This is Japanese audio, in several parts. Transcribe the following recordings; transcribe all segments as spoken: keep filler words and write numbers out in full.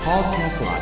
Podcast Live。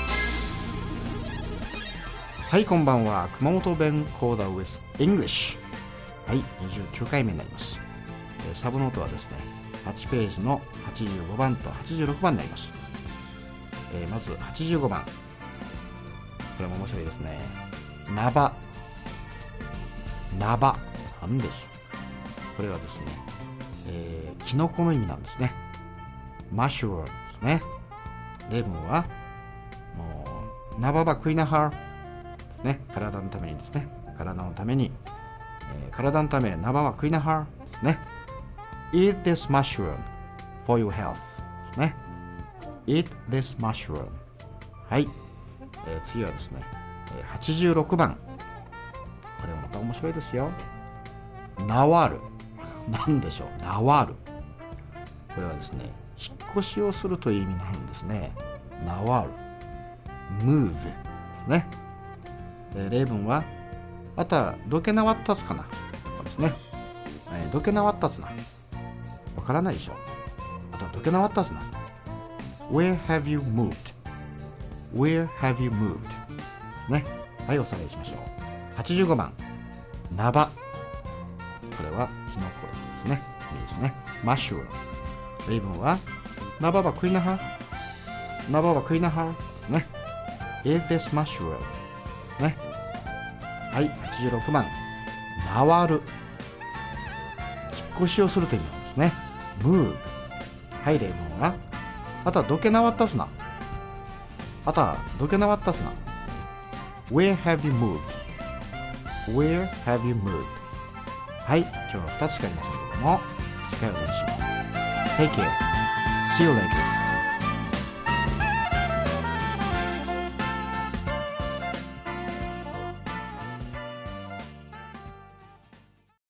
はい、こんばんは。熊本弁講座 with English。はい、にじゅうきゅうかいめになります。えー、サブノートはですね、はちページのはちじゅうごばんとはちじゅうろくばんになります。えー、まずはちじゅうごばん。これも面白いですね。ナバ。ナバ。なんでしょう。これはですね、えー、キノコの意味なんですね。マッシュルームですね。例文は、もう、ナババクイナハーですね。体のためにですね。体のために、えー、体のため、ナババクイナハーですね。Eat this mushroom for your health ですね。Eat this mushroom。はい。えー、次はですね、えー、はちじゅうろくばん。これはまた面白いですよ。ナワール。なんでしょう。ナワール。これはですね、引っ越しをするという意味なんですね。ナワール。move ですね。えー、例文は、あたどけなわったつかな。そうですね。えー、どけなわったつな。わからないでしょ。あとはどけなわったつな。Where have you moved? Where have you moved? ですね。はい、おさらいしましょう。はちじゅうごばん。ナバ。これはキノコですね。いいですね。マッシュルーム。例文は、ナババクイナハナババクイナハですね。Eat this mushroom ですね。はい、はちじゅうろくばん。ナワル。引っ越しをするという意味なんですね。move。はい、例文は、あたどけなわったすな。あたどけなわったすな。Where have you moved? Where have you moved? はい、今日はふたつしかありませんけども、次回お楽しみに。Take care. See you later.